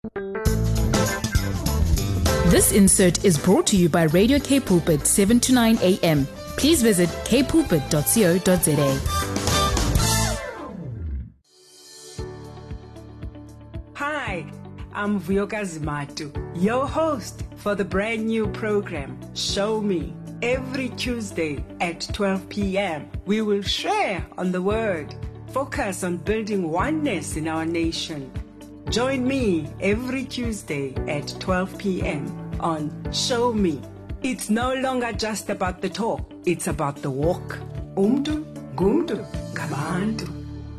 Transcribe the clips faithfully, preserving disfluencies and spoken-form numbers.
This insert is brought to you by Radio K Pulpit, seven to nine a.m. Please visit k pulpit dot co dot za. Hi, I'm Vuyokazi Matu, your host for the brand new program, Show Me. Every Tuesday at twelve p.m., we will share on the Word, focus on building oneness in our nation. Join me every Tuesday at twelve p.m. on Show Me. It's no longer just about the talk, it's about the walk. Umdu, gumdu, gabantu.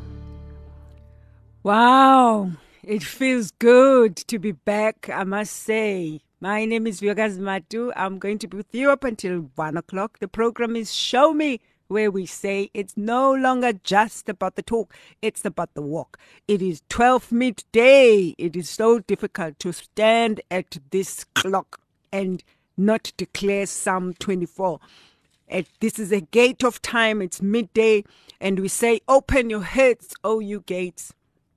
Wow, it feels good to be back, I must say. My name is Vuyokazi Matu. I'm going to be with you up until one o'clock. The program is Show Me, where we say it's no longer just about the talk, it's about the walk. It is twelve midday. It is so difficult to stand at this clock and not declare Psalm twenty-four. At, this is a gate of time. It's midday, and we say, open your heads, O you gates.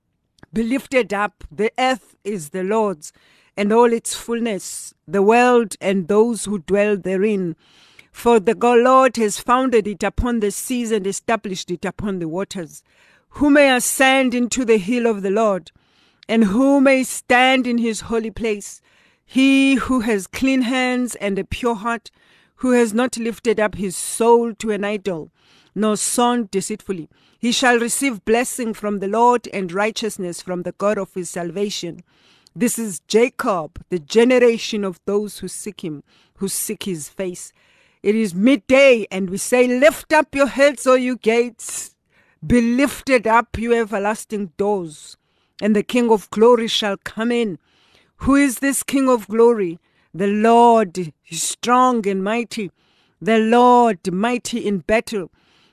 Be lifted up. The earth is the Lord's, and all its fullness, the world and those who dwell therein. For the Lord has founded it upon the seas and established it upon the waters. Who may ascend into the hill of the Lord, and who may stand in his holy place? He who has clean hands and a pure heart, who has not lifted up his soul to an idol, nor sown deceitfully. He shall receive blessing from the Lord and righteousness from the God of his salvation. This is Jacob, the generation of those who seek him, who seek his face. It is midday, and we say, lift up your heads, O you gates. Be lifted up, you everlasting doors, and the King of glory shall come in. Who is this King of glory? The Lord is strong and mighty, the Lord mighty in battle.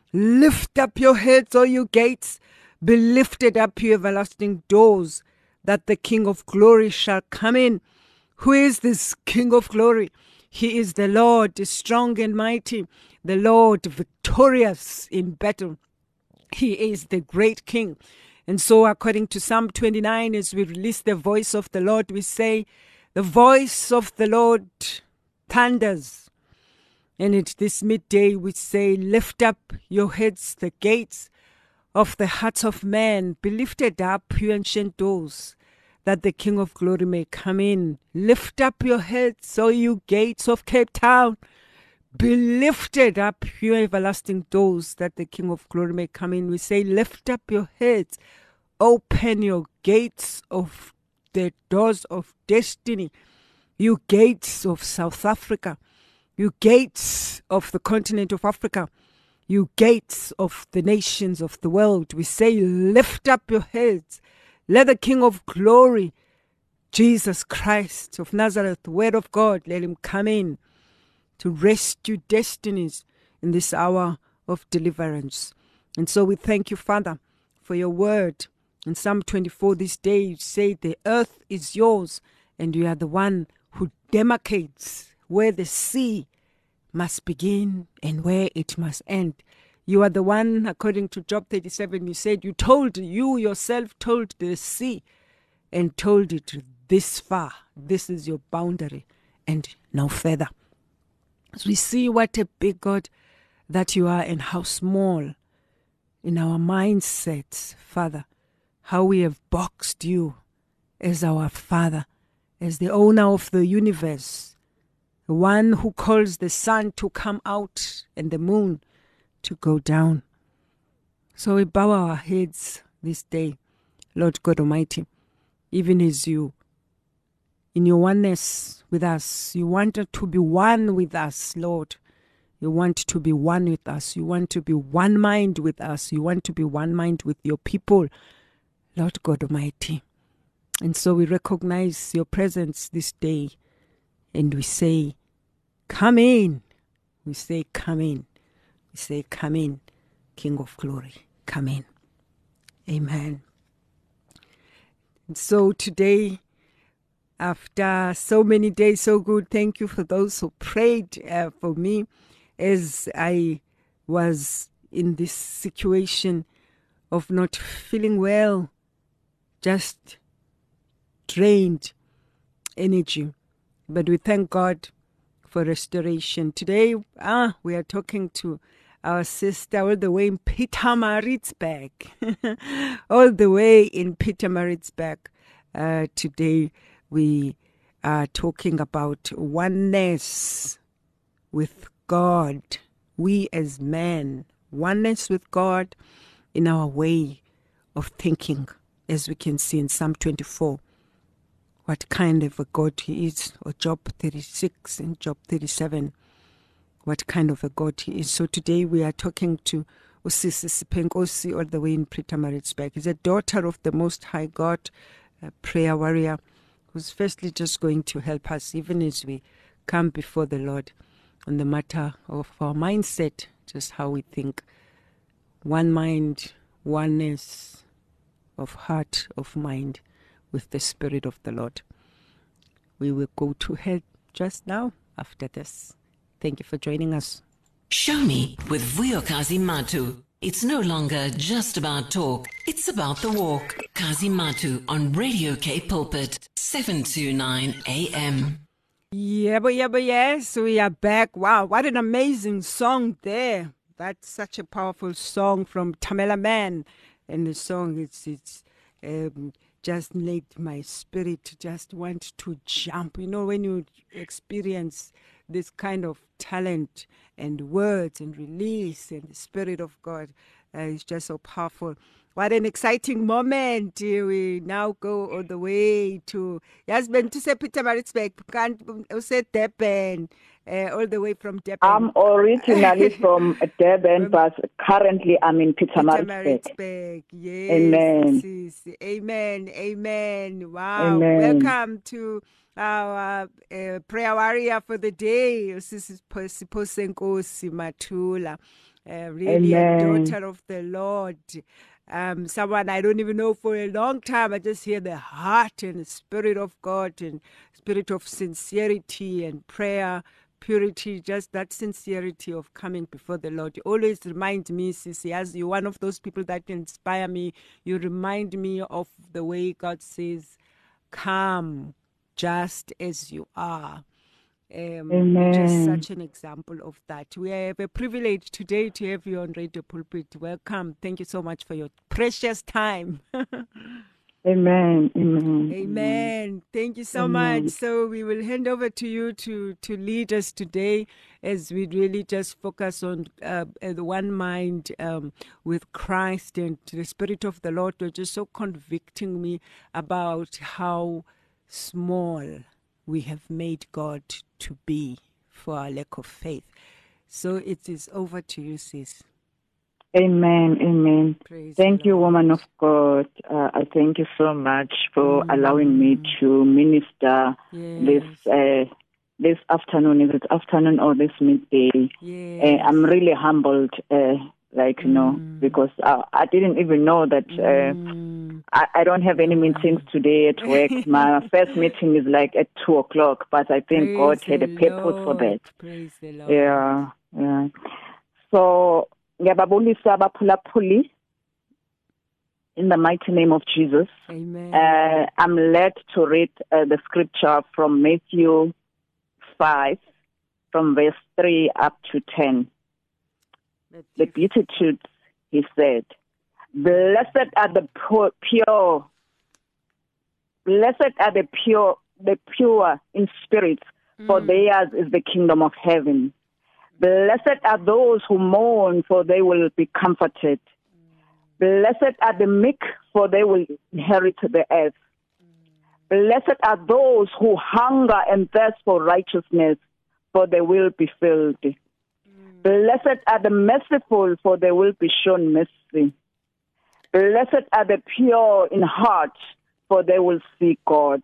Lift up your heads, O you gates. Be lifted up, you everlasting doors, that the King of glory shall come in. Who is this King of glory? He is the Lord, strong and mighty, the Lord victorious in battle. He is the great King. And so according to Psalm twenty-nine, as we release the voice of the Lord, we say, the voice of the Lord thunders. And at this midday we say, lift up your heads, the gates of the hearts of man. Be lifted up, you ancient doors, that the King of glory may come in. Lift up your heads, O you gates of Cape Town. Be lifted up, you everlasting doors, that the King of glory may come in. We say, lift up your heads. Open your gates of the doors of destiny. You gates of South Africa. You gates of the continent of Africa. You gates of the nations of the world. We say, lift up your heads. Let the King of glory, Jesus Christ of Nazareth, the Word of God, let him come in to rescue destinies in this hour of deliverance. And so we thank you, Father, for your word. In Psalm twenty-four this day, you say the earth is yours, and you are the one who demarcates where the sea must begin and where it must end. You are the one, according to Job thirty-seven, you said, you told, you yourself told the sea and told it this far. This is your boundary and no further. As we see what a big God that you are and how small in our mindsets, Father, how we have boxed you as our Father, as the owner of the universe, the one who calls the sun to come out and the moon to go down. So we bow our heads this day, Lord God Almighty, even as you, in your oneness with us, you want to be one with us, Lord. You want to be one with us. You want to be one mind with us. You want to be one mind with your people, Lord God Almighty. And so we recognize your presence this day, and we say, come in. We say, come in. We say, come in, King of glory, come in. Amen. And so today, after so many days, so good, thank you for those who prayed uh, for me as I was in this situation of not feeling well, just drained energy. But we thank God for restoration. Today, ah, we are talking to our sister all the way in Pietermaritzburg. all the way in Pietermaritzburg. Uh, today, we are talking about oneness with God. We as men, oneness with God in our way of thinking, as we can see in Psalm twenty-four. What kind of a God he is, or Job thirty-six and Job thirty-seven, what kind of a God he is. So today we are talking to Usisi Sipenkosi all the way in Pietermaritzburg. He's a daughter of the Most High God, a prayer warrior, who's firstly just going to help us even as we come before the Lord on the matter of our mindset, just how we think. One mind, oneness of heart, of mind, with the Spirit of the Lord. We will go to her just now after this. Thank you for joining us. Show Me with Vuyokazi Matu. It's no longer just about talk. It's about the walk. Kazi Matu on Radio K Pulpit, seven twenty-nine A M. Yeah, but yeah, but yes, we are back. Wow, what an amazing song there. That's such a powerful song from Tamela Man. And the song, it's, it's, um, just made my spirit just want to jump. You know, when you experience this kind of talent and words and release and the Spirit of God, uh, it's just so powerful. What an exciting moment. Uh, We now go all the way to Yasben to say Pietermaritzburg, can't say Durban, uh, all the way from Durban. I'm originally from Durban, but currently I'm in Pietermaritzburg. Pietermaritzburg, yes. Amen. Yes, amen. Amen. Wow. Amen. Welcome to our uh, prayer warrior for the day, Usisi Sipenkosi Matula, uh, really Amen. a daughter of the Lord. Um, someone I don't even know for a long time. I just hear the heart and the Spirit of God and spirit of sincerity and prayer, purity, just that sincerity of coming before the Lord. You always remind me, Sissy, as you're one of those people that inspire me, you remind me of the way God says, come just as you are. Um, you're just Amen. such an example of that. We have a privilege today to have you on Radio Pulpit. Welcome. Thank you so much for your precious time. Amen. Amen. Amen. Thank you so Amen. much. So we will hand over to you to, to lead us today as we really just focus on uh, the one mind um, with Christ and the Spirit of the Lord. You're just so convicting me about how small we have made God to be for our lack of faith. So it is over to you, sis. Amen. Amen. Praise Thank the you, Lord. woman of God. Uh, I thank you so much for Mm. allowing me to minister Yes. this uh, this afternoon. Is it afternoon or this midday? Yes. Uh, I'm really humbled, uh, like, you know, Mm. because I, I didn't even know that uh, Mm. I, I don't have any meetings today at work. My first meeting is like at two o'clock, but I think God Praise had a the purpose for that. Lord. Praise the Lord. Yeah, yeah. So, ngiyababulisa abaphulaphuli in the mighty name of Jesus. Amen. Uh, I'm led to read uh, the scripture from Matthew five, from verse three up to ten. The Beatitudes, he said, blessed are the poor, pure, blessed are the pure, the pure in spirit, for Mm. theirs is the kingdom of heaven. Blessed are those who mourn, for they will be comforted. Blessed are the meek, for they will inherit the earth. Blessed are those who hunger and thirst for righteousness, for they will be filled. Blessed are the merciful, for they will be shown mercy. Blessed are the pure in heart, for they will see God.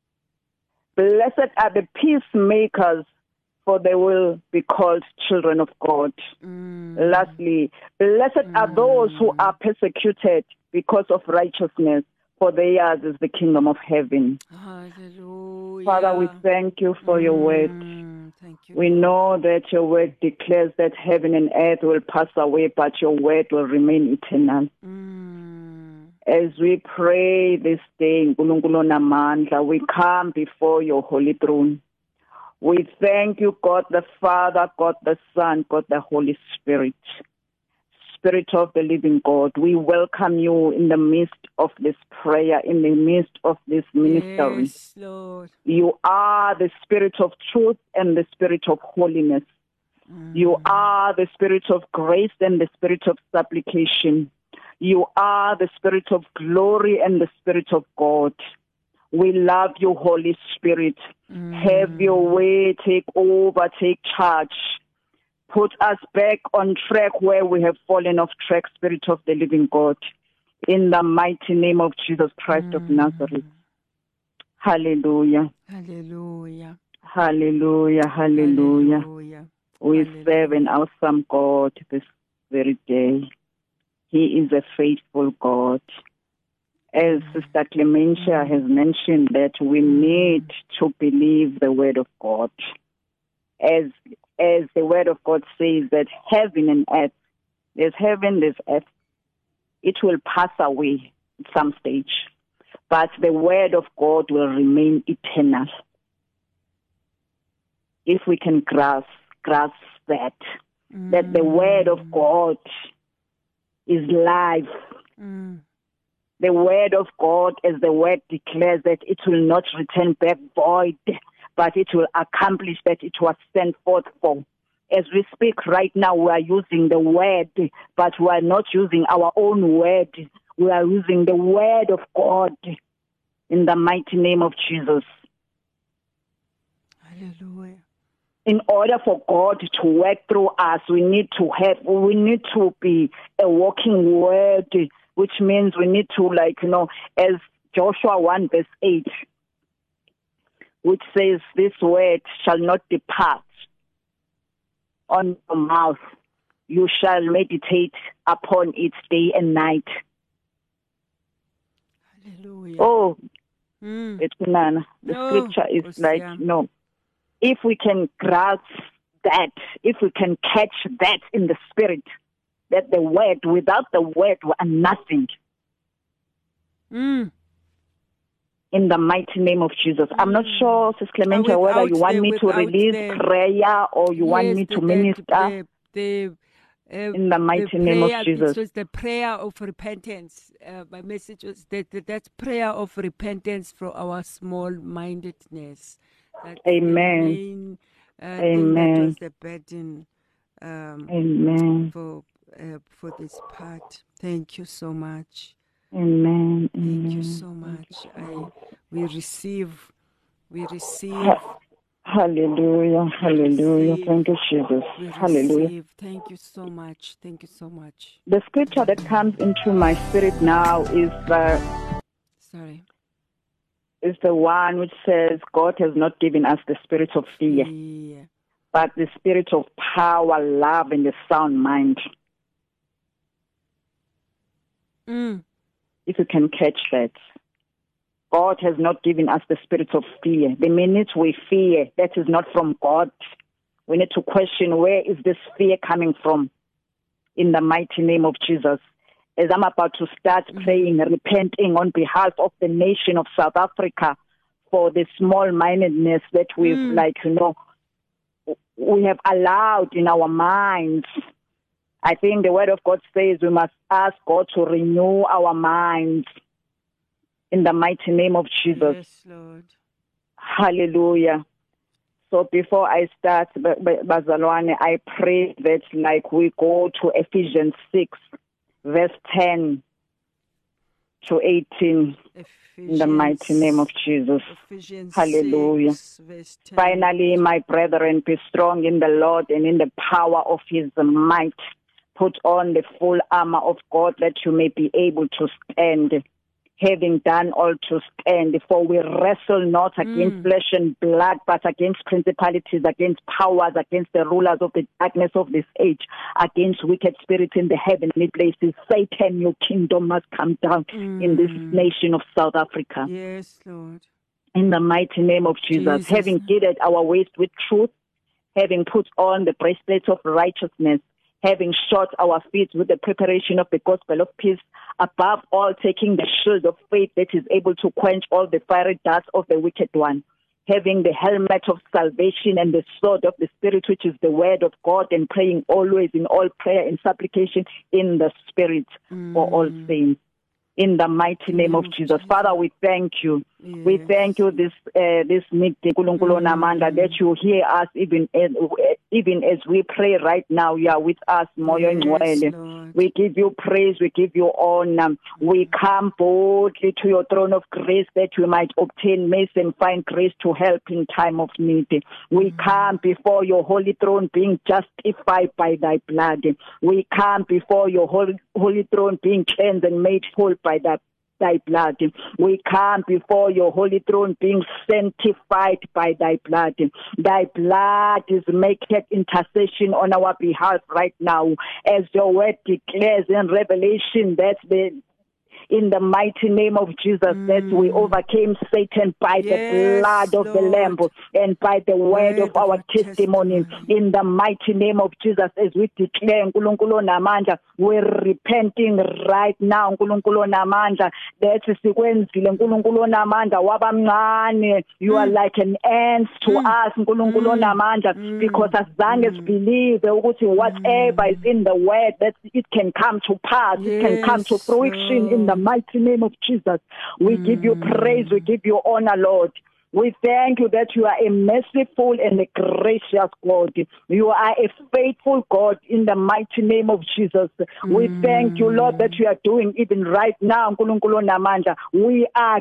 Blessed are the peacemakers, for they will be called children of God. Mm. Lastly, blessed Mm. are those who are persecuted because of righteousness, for theirs is the kingdom of heaven. Hallelujah. Father, we thank you for your word. Mm. Thank you. We Lord. know that your word declares that heaven and earth will pass away, but your word will remain eternal. Mm. As we pray this day, Nkulunkulu namandla, we come before your holy throne. We thank you, God the Father, God the Son, God the Holy Spirit. Spirit of the living God, we welcome you in the midst of this prayer, in the midst of this ministry. Yes, Lord. You are the Spirit of truth and the Spirit of holiness. Mm. You are the Spirit of grace and the Spirit of supplication. You are the Spirit of glory and the Spirit of God. We love you, Holy Spirit. Mm. Have your way, take over, take charge. Put us back on track where we have fallen off track, Spirit of the living God. In the mighty name of Jesus Christ mm. of Nazareth. Hallelujah. Hallelujah. Hallelujah. Hallelujah. Hallelujah. We Hallelujah. serve an awesome God this very day. He is a faithful God. As Sister Clementia has mentioned, that we need to believe the word of God. As as the word of God says that heaven and earth, there's heaven, there's earth, it will pass away at some stage. But the word of God will remain eternal. If we can grasp, grasp that, mm. that the word of God is life. Mm. The word of God, as the word declares, that it will not return back void, but it will accomplish that it was sent forth for. As we speak right now, we are using the word, but we are not using our own word. We are using the word of God in the mighty name of Jesus. Hallelujah. In order for God to work through us, we need to have, we need to be a walking word, which means we need to, like, you know, as Joshua one verse eight, which says, this word shall not depart on your mouth. You shall meditate upon it day and night. Hallelujah. Oh, mm. it's none. The no, scripture is like, yeah. no. If we can grasp that, if we can catch that in the spirit, that the word, without the word, we are nothing. Mm. In the mighty name of Jesus. Mm. I'm not sure, Sister Clementia, whether you want the, me to release the, prayer or you yes, want me to the, minister. The, the, uh, in the mighty the name prayer, of Jesus. It was the prayer of repentance. Uh, my message was that, that that's prayer of repentance for our small-mindedness. That's Amen. The main, uh, Amen. Thing that was the burden um, Amen. for uh, for this part. Thank you so much. Amen. Thank Amen. you so much. I we receive, we receive. Hallelujah. Hallelujah. Receive. Thank you, Jesus. We Hallelujah. Receive. Thank you so much. Thank you so much. The scripture that comes into my spirit now is uh, sorry. Is the one which says God has not given us the spirit of fear, fear, but the spirit of power, love, and a sound mind. Mm. If you can catch that. God has not given us the spirit of fear. The minute we fear, that is not from God. We need to question, where is this fear coming from? In the mighty name of Jesus. As I'm about to start mm-hmm. praying, repenting on behalf of the nation of South Africa for the small-mindedness that we've, mm. like, you know, we have allowed in our minds. I think the word of God says we must ask God to renew our minds in the mighty name of Jesus. Yes, Lord. Hallelujah. So before I start, Bazalwane, I pray that, like, we go to Ephesians six, verse ten to eighteen, Ephesians, in the mighty name of Jesus. Ephesians Hallelujah. six, verse ten. Finally, my brethren, be strong in the Lord and in the power of his might. Put on the full armor of God that you may be able to stand. Having done all to stand, for we wrestle not against mm. flesh and blood, but against principalities, against powers, against the rulers of the darkness of this age, against wicked spirits in the heavenly places. Satan, your kingdom must come down mm. in this nation of South Africa. Yes, Lord. In the mighty name of Jesus, Jesus. Having girded our waist with truth, having put on the breastplate of righteousness, having shod our feet with the preparation of the gospel of peace, Above all, taking the shield of faith that is able to quench all the fiery darts of the wicked one, having the helmet of salvation and the sword of the Spirit, which is the word of God, and praying always in all prayer and supplication in the Spirit mm. for all saints. In the mighty name of Jesus. Father, we thank you. Yes. We thank you this uh, this meeting, mm. that you hear us even as, even as we pray right now. You are with us, Moyo Ngcwele. We give you praise, we give you honor. We come boldly to your throne of grace that we might obtain mercy and find grace to help in time of need. We mm. come before your holy throne being justified by thy blood. We come before your holy, holy throne being cleansed and made whole by that thy blood. We come before your holy throne being sanctified by thy blood. Thy blood is making intercession on our behalf right now, as your word declares in Revelation that the in the mighty name of Jesus, mm. that we overcame Satan by yes, the blood of Lord. the Lamb and by the word, word of our of testimony. testimony. In the mighty name of Jesus, as we declare, Nkulunkulu namandla, we're repenting right now, Nkulunkulu namandla, that sikwenzile Nkulunkulu namandla wabamncane. You are like an ant to mm. us, Nkulunkulu namandla, mm. because as long as believe ukuthi whatever is in the word, that it can come to pass, yes, it can come to fruition Lord. in the mighty name of Jesus. We mm. give you praise, we give you honor, Lord. We thank you that you are a merciful and a gracious God. You are a faithful God in the mighty name of Jesus. Mm. We thank you, Lord, that you are doing even right now. Nkulunkulu namandla. We are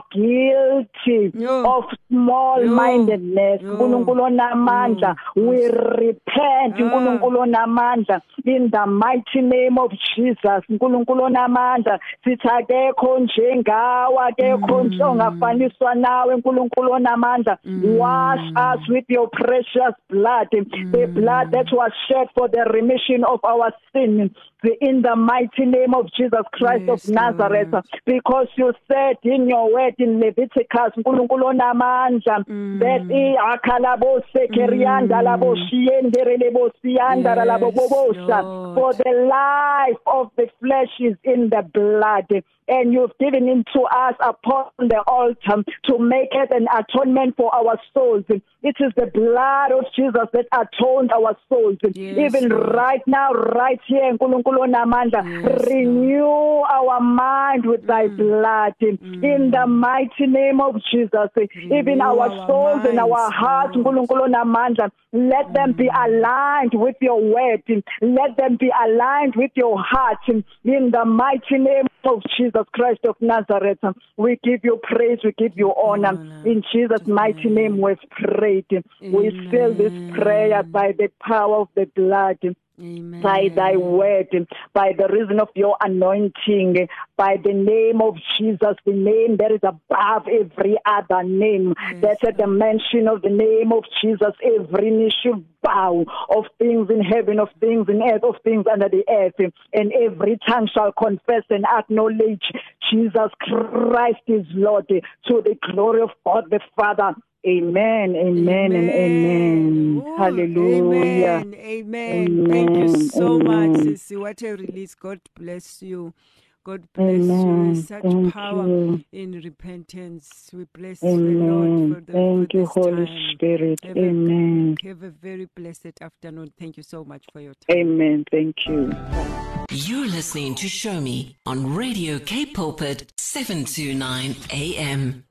guilty Yo. of small-mindedness. Nkulunkulu namandla. We repent Nkulunkulu namandla, in the mighty name of Jesus. Nkulunkulu namandla. Sithakekho njengawe, akekho ongafaniswa nawe Nkulunkulu namandla. Mm. Wash us with your precious blood, mm. the blood that was shed for the remission of our sin. In the mighty name of Jesus Christ yes, of Nazareth, Lord. Because you said in your word in Leviticus, Nkulunkulu namandla, that iakalabose kerianda labo shiendere lebo sianda labo bobosha, for the life of the flesh is in the blood. And you've given it to us upon the altar to make it an atonement for our souls. It is the blood of Jesus that atoned our souls. Yes, even Lord. right now, right here, Nkulunkulu namandla, yes, renew Lord. our mind with thy mm. blood. Mm. In the mighty name of Jesus, renew even our, our souls minds, and our hearts, Nkulunkulu namandla, let mm. them be aligned with your word. Let them be aligned with your heart. In the mighty name of Jesus Christ of Nazareth, we give you praise, we give you honor. In Jesus' mighty name we've prayed. We seal this prayer by the power of the blood. Amen. By thy word, by the reason of your anointing, by the name of Jesus, the name that is above every other name, yes, that at the mention of the name of Jesus, every knee should bow, of things in heaven, of things in earth, of things under the earth, and every tongue shall confess and acknowledge Jesus Christ is Lord, to the glory of God the Father. Amen, amen, amen, and amen. Ooh, hallelujah. Amen, amen. Amen. Thank you so amen. much, Sissy. What a release. God bless you. God bless amen. you. Such Thank power you. in repentance. We bless amen. the Lord for the Thank for you, this Holy time. Spirit. Have amen. A, have a very blessed afternoon. Thank you so much for your time. Amen. Thank you. You're listening to Show Me on Radio K Pulpit seven twenty-nine A M.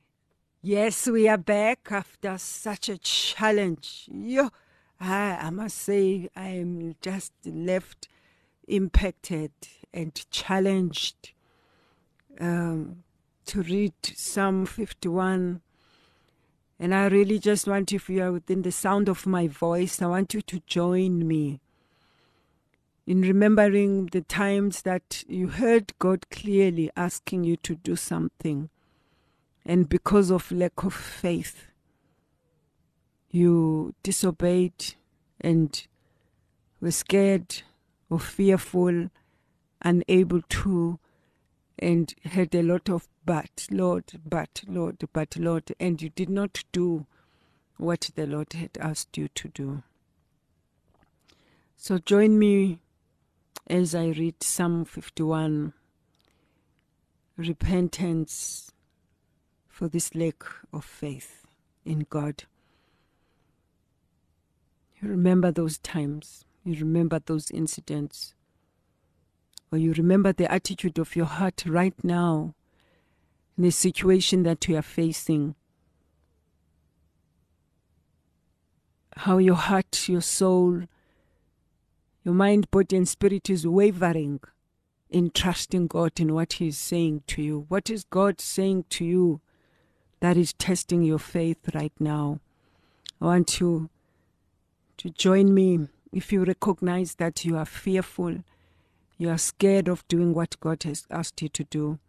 Yes, we are back after such a challenge. Yo, I, I must say, I'm just left impacted and challenged um, to read Psalm fifty-one. And I really just want, if you are within the sound of my voice, I want you to join me in remembering the times that you heard God clearly asking you to do something. And because of lack of faith, you disobeyed and were scared or fearful, unable to, and had a lot of but, Lord, but, Lord, but, Lord, and you did not do what the Lord had asked you to do. So join me as I read Psalm fifty-one. repentance for this lack of faith in God. You remember those times. You remember those incidents. Or you remember the attitude of your heart right now in the situation that you are facing. How your heart, your soul, your mind, body, and spirit is wavering in trusting God in what He is saying to you. What is God saying to you that is testing your faith right now? I want you to join me if you recognize that you are fearful, you are scared of doing what God has asked you to do,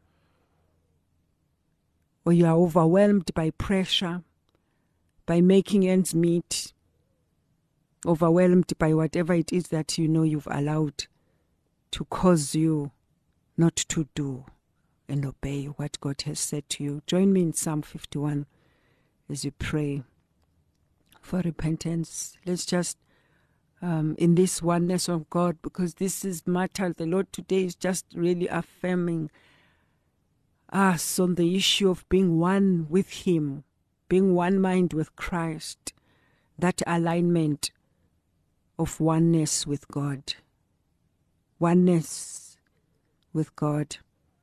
or you are overwhelmed by pressure, by making ends meet, overwhelmed by whatever it is that you know you've allowed to cause you not to do and obey what God has said to you. Join me in Psalm fifty-one as you pray for repentance. Let's just, um, in this oneness of God, because this is matter, the Lord today is just really affirming us on the issue of being one with Him, being one mind with Christ, that alignment of oneness with God. Oneness with God.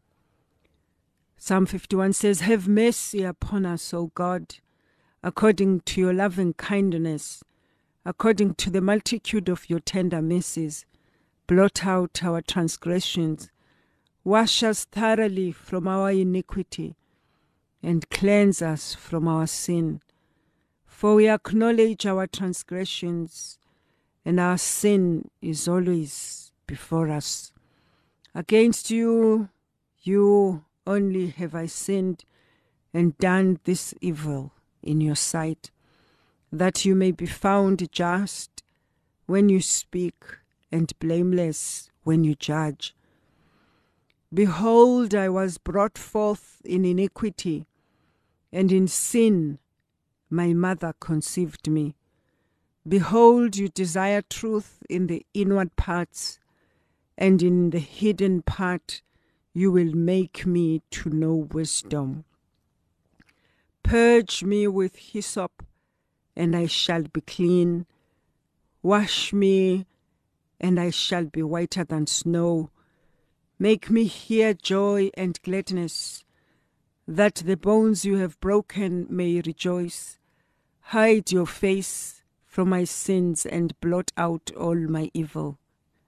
Psalm fifty-one says, "Have mercy upon us, O God, according to your loving kindness, according to the multitude of your tender mercies. Blot out our transgressions. Wash us thoroughly from our iniquity, and cleanse us from our sin. For we acknowledge our transgressions, and our sin is always before us. Against you, you only have I sinned and done this evil in your sight, that you may be found just when you speak and blameless when you judge. Behold, I was brought forth in iniquity, and in sin my mother conceived me. Behold, you desire truth in the inward parts, and in the hidden part you will make me to know wisdom. Purge me with hyssop, and I shall be clean. Wash me, and I shall be whiter than snow. Make me hear joy and gladness, that the bones you have broken may rejoice. Hide your face from my sins and blot out all my evil.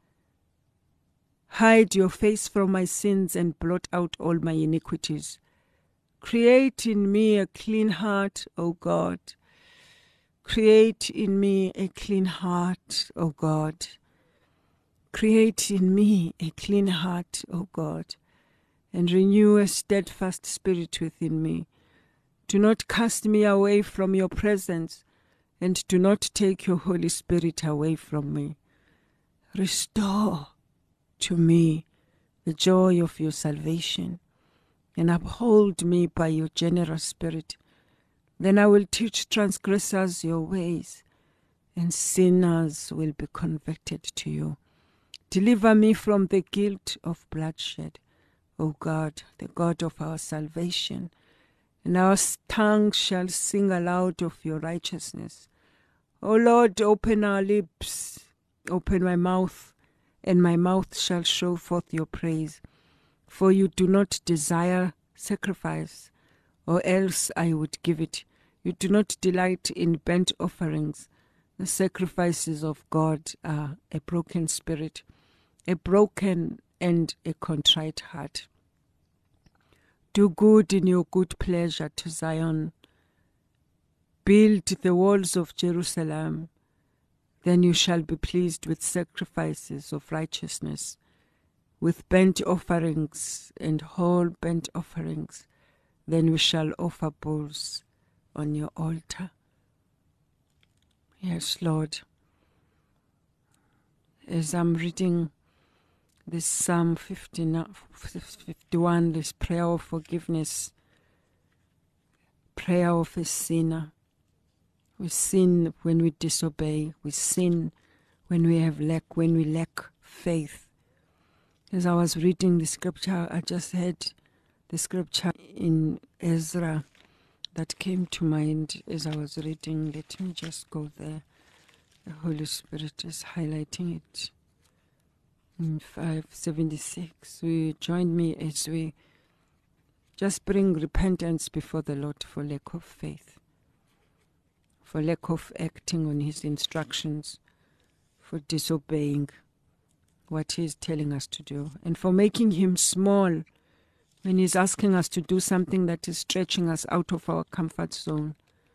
Hide your face from my sins and blot out all my iniquities. Create in me a clean heart, O God. Create in me a clean heart, O God. Create in me a clean heart, O God, and renew a steadfast spirit within me. Do not cast me away from your presence, and do not take your Holy Spirit away from me. Restore to me the joy of your salvation, and uphold me by your generous spirit. Then I will teach transgressors your ways, and sinners will be converted to you. Deliver me from the guilt of bloodshed, O God, the God of our salvation, and our tongue shall sing aloud of your righteousness. O Lord, open our lips, open my mouth, and my mouth shall show forth your praise. For you do not desire sacrifice, or else I would give it. You do not delight in burnt offerings. The sacrifices of God are a broken spirit, a broken and a contrite heart. Do good in your good pleasure to Zion. Build the walls of Jerusalem. Then you shall be pleased with sacrifices of righteousness, with burnt offerings and whole burnt offerings. Then we shall offer bulls on your altar. Yes, Lord. As I'm reading this Psalm fifty-one, this prayer of forgiveness, prayer of a sinner. We sin when we disobey. We sin when we have lack, when we lack faith. As I was reading the scripture, I just had the scripture in Ezra that came to mind as I was reading. Let me just go there. The Holy Spirit is highlighting it. In five seventy-six, we join me as we just bring repentance before the Lord for lack of faith, for lack of acting on his instructions, for disobeying what he is telling us to do, and for making him small when he's asking us to do something that is stretching us out of our comfort zone,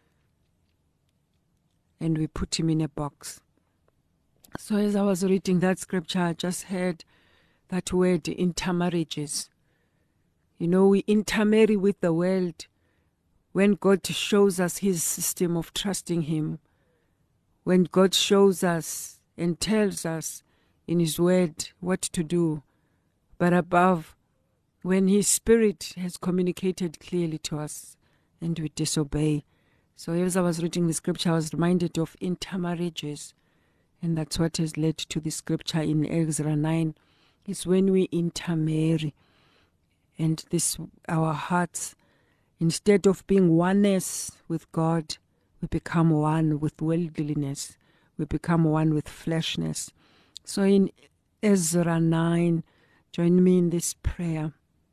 and we put him in a box. So as I was reading that scripture, I just heard that word, intermarriages. You know, we intermarry with the world when God shows us his system of trusting him, when God shows us and tells us in his word what to do, but above, when his spirit has communicated clearly to us and we disobey. So as I was reading the scripture, I was reminded of intermarriages. And that's what has led to the scripture in Ezra nine. It's when we intermarry. And this, our hearts, instead of being oneness with God, we become one with worldliness. We become one with fleshness. So in Ezra nine, join me in this prayer.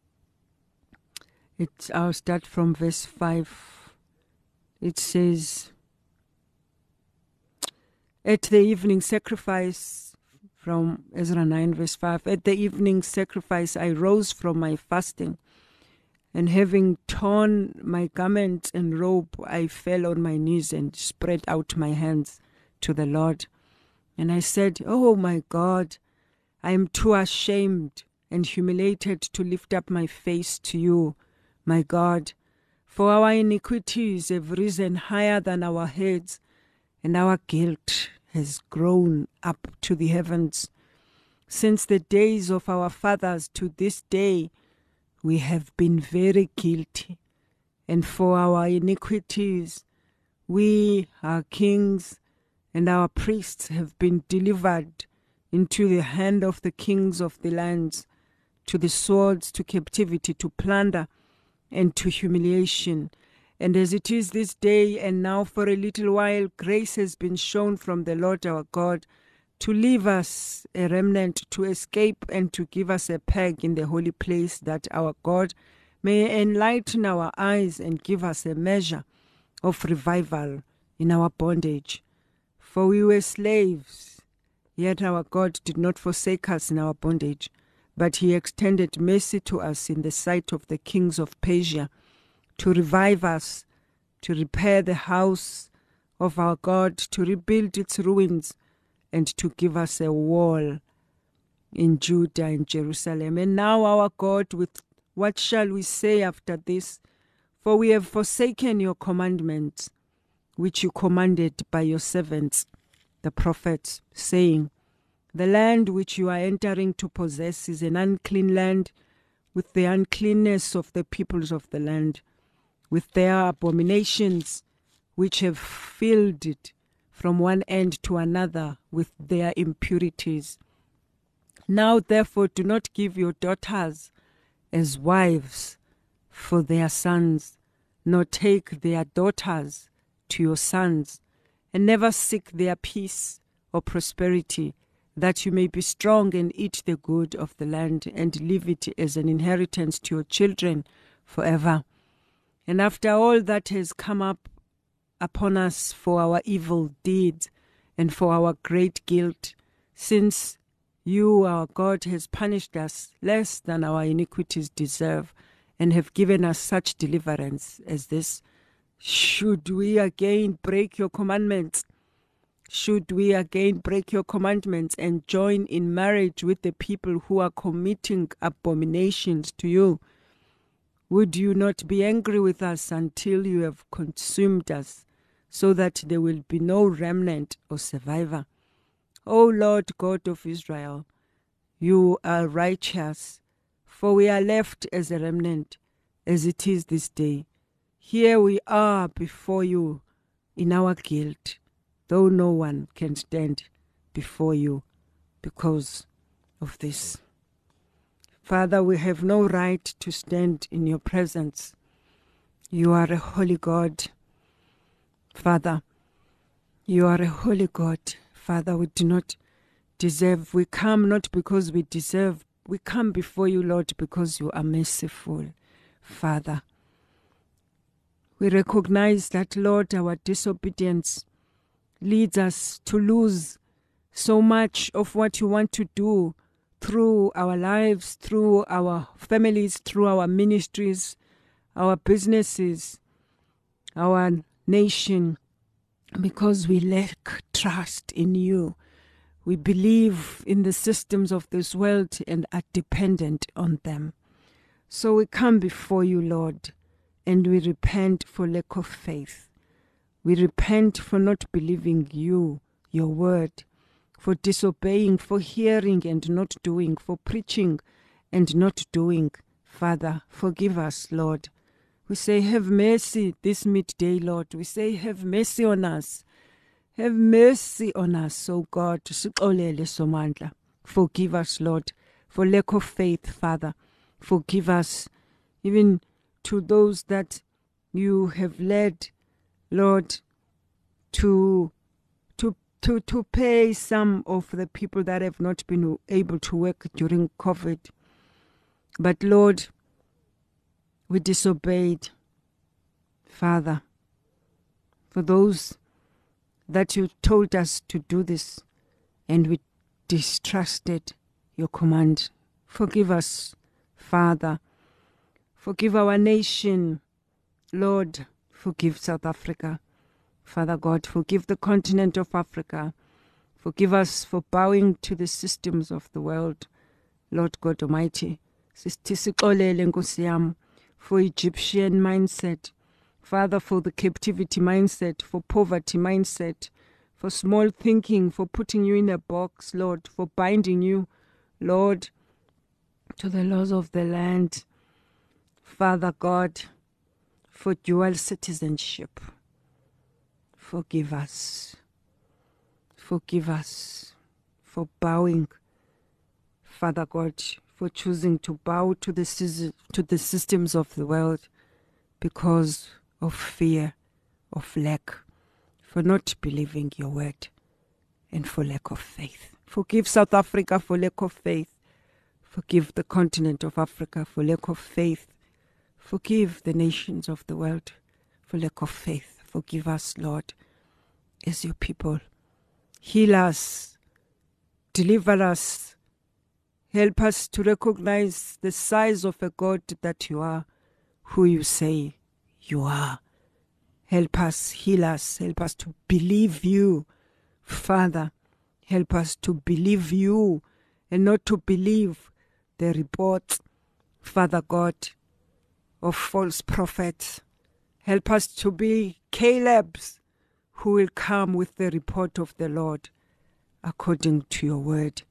It's, I'll start from verse five. It says, at the evening sacrifice, from Ezra nine verse five, at the evening sacrifice I rose from my fasting, and having torn my garment and robe, I fell on my knees and spread out my hands to the Lord. And I said, oh my God, I am too ashamed and humiliated to lift up my face to you, my God, for our iniquities have risen higher than our heads, and our guilt has grown up to the heavens. Since the days of our fathers to this day, we have been very guilty. And for our iniquities, we, our kings, and our priests have been delivered into the hand of the kings of the lands, to the swords, to captivity, to plunder, and to humiliation. And as it is this day, and now for a little while, grace has been shown from the Lord our God to leave us a remnant, to escape and to give us a peg in the holy place, that our God may enlighten our eyes and give us a measure of revival in our bondage. For we were slaves, yet our God did not forsake us in our bondage, but he extended mercy to us in the sight of the kings of Persia, to revive us, to repair the house of our God, to rebuild its ruins, and to give us a wall in Judah and Jerusalem. And now, our God, with what shall we say after this? For we have forsaken your commandments, which you commanded by your servants, the prophets, saying, the land which you are entering to possess is an unclean land, with the uncleanness of the peoples of the land, with their abominations, which have filled it from one end to another with their impurities. Now, therefore, do not give your daughters as wives for their sons, nor take their daughters to your sons, and never seek their peace or prosperity, that you may be strong and eat the good of the land, and leave it as an inheritance to your children forever. And after all that has come up upon us for our evil deeds and for our great guilt, since you, our God, has punished us less than our iniquities deserve, and have given us such deliverance as this, should we again break your commandments? Should we again break your commandments and join in marriage with the people who are committing abominations to you? Would you not be angry with us until you have consumed us, so that there will be no remnant or survivor? O Lord God of Israel, you are righteous, for we are left as a remnant, as it is this day. Here we are before you in our guilt, though no one can stand before you because of this. Father, we have no right to stand in your presence. You are a holy God. Father, you are a holy God. Father, we do not deserve. We come not because we deserve. We come before you, Lord, because you are merciful. Father, we recognize that, Lord, our disobedience leads us to lose so much of what you want to do through our lives, through our families, through our ministries, our businesses, our nation, because we lack trust in you. We believe in the systems of this world and are dependent on them. So we come before you, Lord, and we repent for lack of faith. We repent for not believing you, your word, for disobeying, for hearing and not doing, for preaching and not doing. Father, forgive us, Lord. We say, have mercy this midday, Lord. We say, have mercy on us. Have mercy on us, O God. Forgive us, Lord, for lack of faith, Father. Forgive us, even to those that you have led, Lord, to to to to pay some of the people that have not been able to work during COVID. But Lord, we disobeyed, Father, for those that you told us to do this, and we distrusted your command. Forgive us, Father. Forgive our nation, Lord. Forgive South Africa. Father God, forgive the continent of Africa. Forgive us for bowing to the systems of the world, Lord God Almighty. For Egyptian mindset, Father, for the captivity mindset, for poverty mindset, for small thinking, for putting you in a box, Lord, for binding you, Lord, to the laws of the land. Father God, for dual citizenship. Forgive us. Forgive us for bowing, Father God, for choosing to bow to the, to the systems of the world because of fear, of lack, for not believing your word, and for lack of faith. Forgive South Africa for lack of faith. Forgive the continent of Africa for lack of faith. Forgive the nations of the world for lack of faith. Forgive us, Lord, as your people. Heal us. Deliver us. Help us to recognize the size of a God that you are, who you say you are. Help us, heal us. Help us to believe you, Father. Help us to believe you and not to believe the report, Father God, of false prophets. Help us to be Caleb's who will come with the report of the Lord according to your word.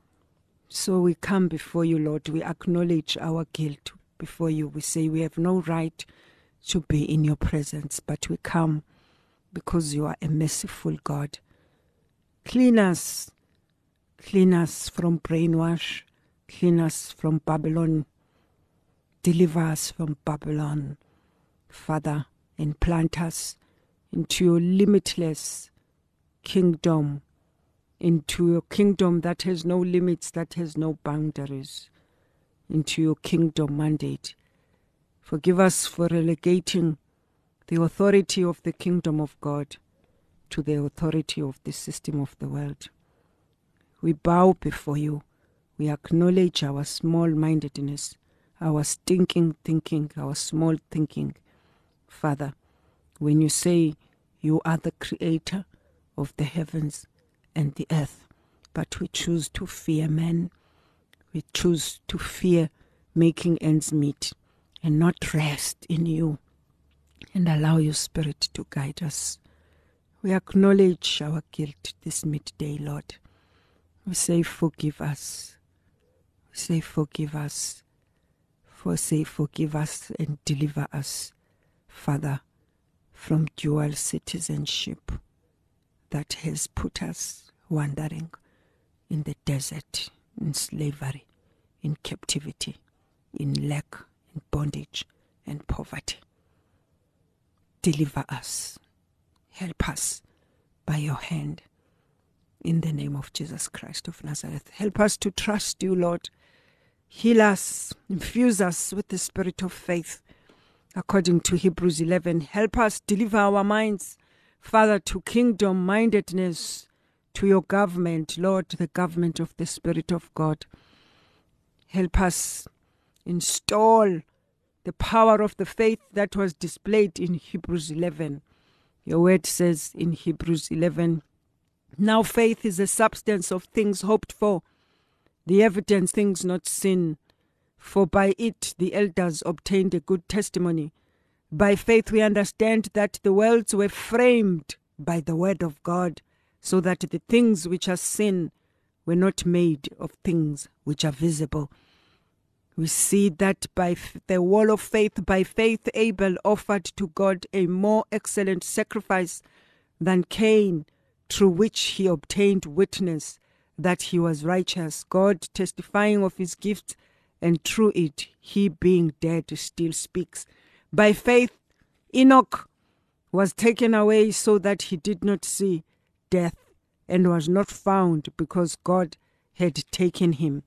So we come before you, Lord. We acknowledge our guilt before you. We say we have no right to be in your presence, but we come because you are a merciful God. Clean us. Clean us from brainwash. Clean us from Babylon. Deliver us from Babylon, Father, and plant us into your limitless kingdom, into your kingdom that has no limits, that has no boundaries, into your kingdom mandate. Forgive us for relegating the authority of the kingdom of God to the authority of the system of the world. We bow before you. We acknowledge our small-mindedness, our stinking thinking, our small thinking. Father, when you say you are the creator of the heavens and the earth, but we choose to fear men, we choose to fear making ends meet and not rest in you and allow your Spirit to guide us. We acknowledge our guilt this midday, Lord. We say forgive us. We say forgive us. For say forgive us and deliver us, Father, from dual citizenship that has put us wandering in the desert, in slavery, in captivity, in lack, in bondage, and poverty. Deliver us. Help us by your hand. In the name of Jesus Christ of Nazareth. Help us to trust you, Lord. Heal us. Infuse us with the spirit of faith. According to Hebrews eleven, help us deliver our minds, Father, to kingdom-mindedness, to your government, Lord, the government of the Spirit of God. Help us install the power of the faith that was displayed in Hebrews eleven. Your word says in Hebrews eleven, now faith is the substance of things hoped for, the evidence things not seen. For by it the elders obtained a good testimony. By faith we understand that the worlds were framed by the word of God, so that the things which are seen were not made of things which are visible. We see that by f- the wall of faith, by faith Abel offered to God a more excellent sacrifice than Cain, through which he obtained witness that he was righteous, God testifying of his gifts, and through it, he being dead still speaks. By faith, Enoch was taken away so that he did not see death, and was not found because God had taken him.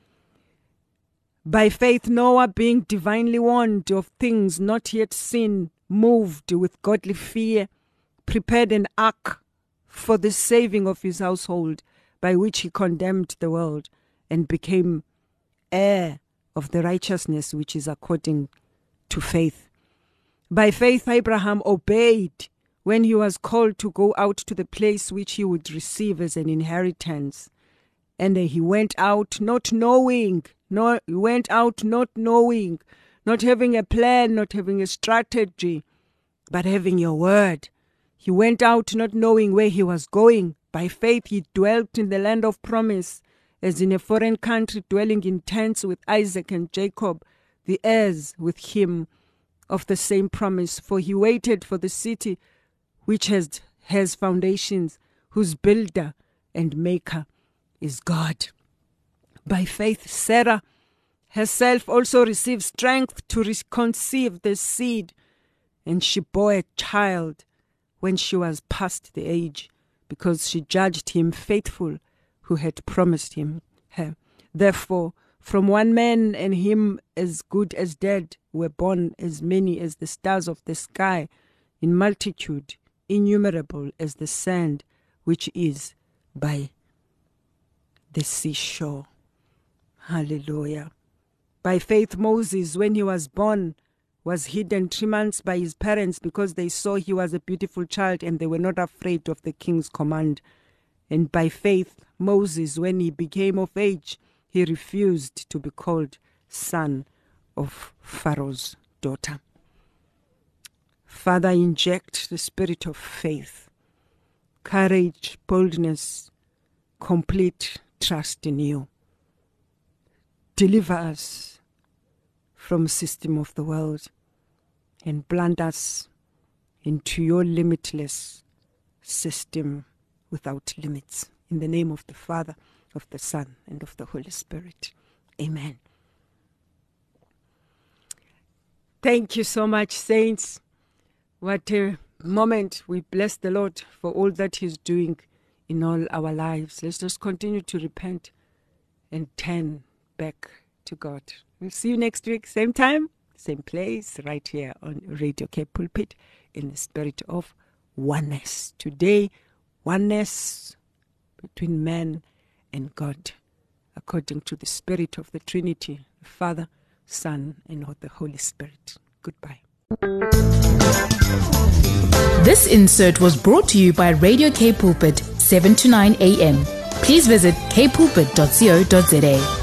By faith, Noah, being divinely warned of things not yet seen, moved with godly fear, prepared an ark for the saving of his household, by which he condemned the world and became heir of the righteousness which is according to faith. By faith, Abraham obeyed when he was called to go out to the place which he would receive as an inheritance. And he went out not knowing, no, he went out not knowing, not having a plan, not having a strategy, but having your word. He went out not knowing where he was going. By faith, he dwelt in the land of promise, as in a foreign country, dwelling in tents with Isaac and Jacob, the heirs with him of the same promise. For he waited for the city which has, has foundations, whose builder and maker is God. By faith, Sarah herself also received strength to re- conceive the seed, and she bore a child when she was past the age, because she judged him faithful who had promised him her. Therefore, from one man, and him as good as dead, were born as many as the stars of the sky, in multitude, innumerable as the sand which is by the seashore. Hallelujah. By faith, Moses, when he was born, was hidden three months by his parents because they saw he was a beautiful child and they were not afraid of the king's command. And by faith, Moses, when he became of age, he refused to be called son of Pharaoh's daughter. Father, inject the spirit of faith, courage, boldness, complete trust in you. Deliver us from the system of the world and plant us into your limitless system without limits. In the name of the Father, of the Son, and of the Holy Spirit. Amen. Thank you so much, saints. What a moment. We bless the Lord for all that he's doing in all our lives. Let's just continue to repent and turn back to God. We'll see you next week, same time, same place, right here on Radio K Pulpit, in the spirit of oneness. Today, oneness between man and God, according to the spirit of the Trinity, the Father, Son, and of the Holy Spirit. Goodbye. This insert was brought to you by Radio K Pulpit, seven to nine a.m. Please visit k pulpit dot co dot za.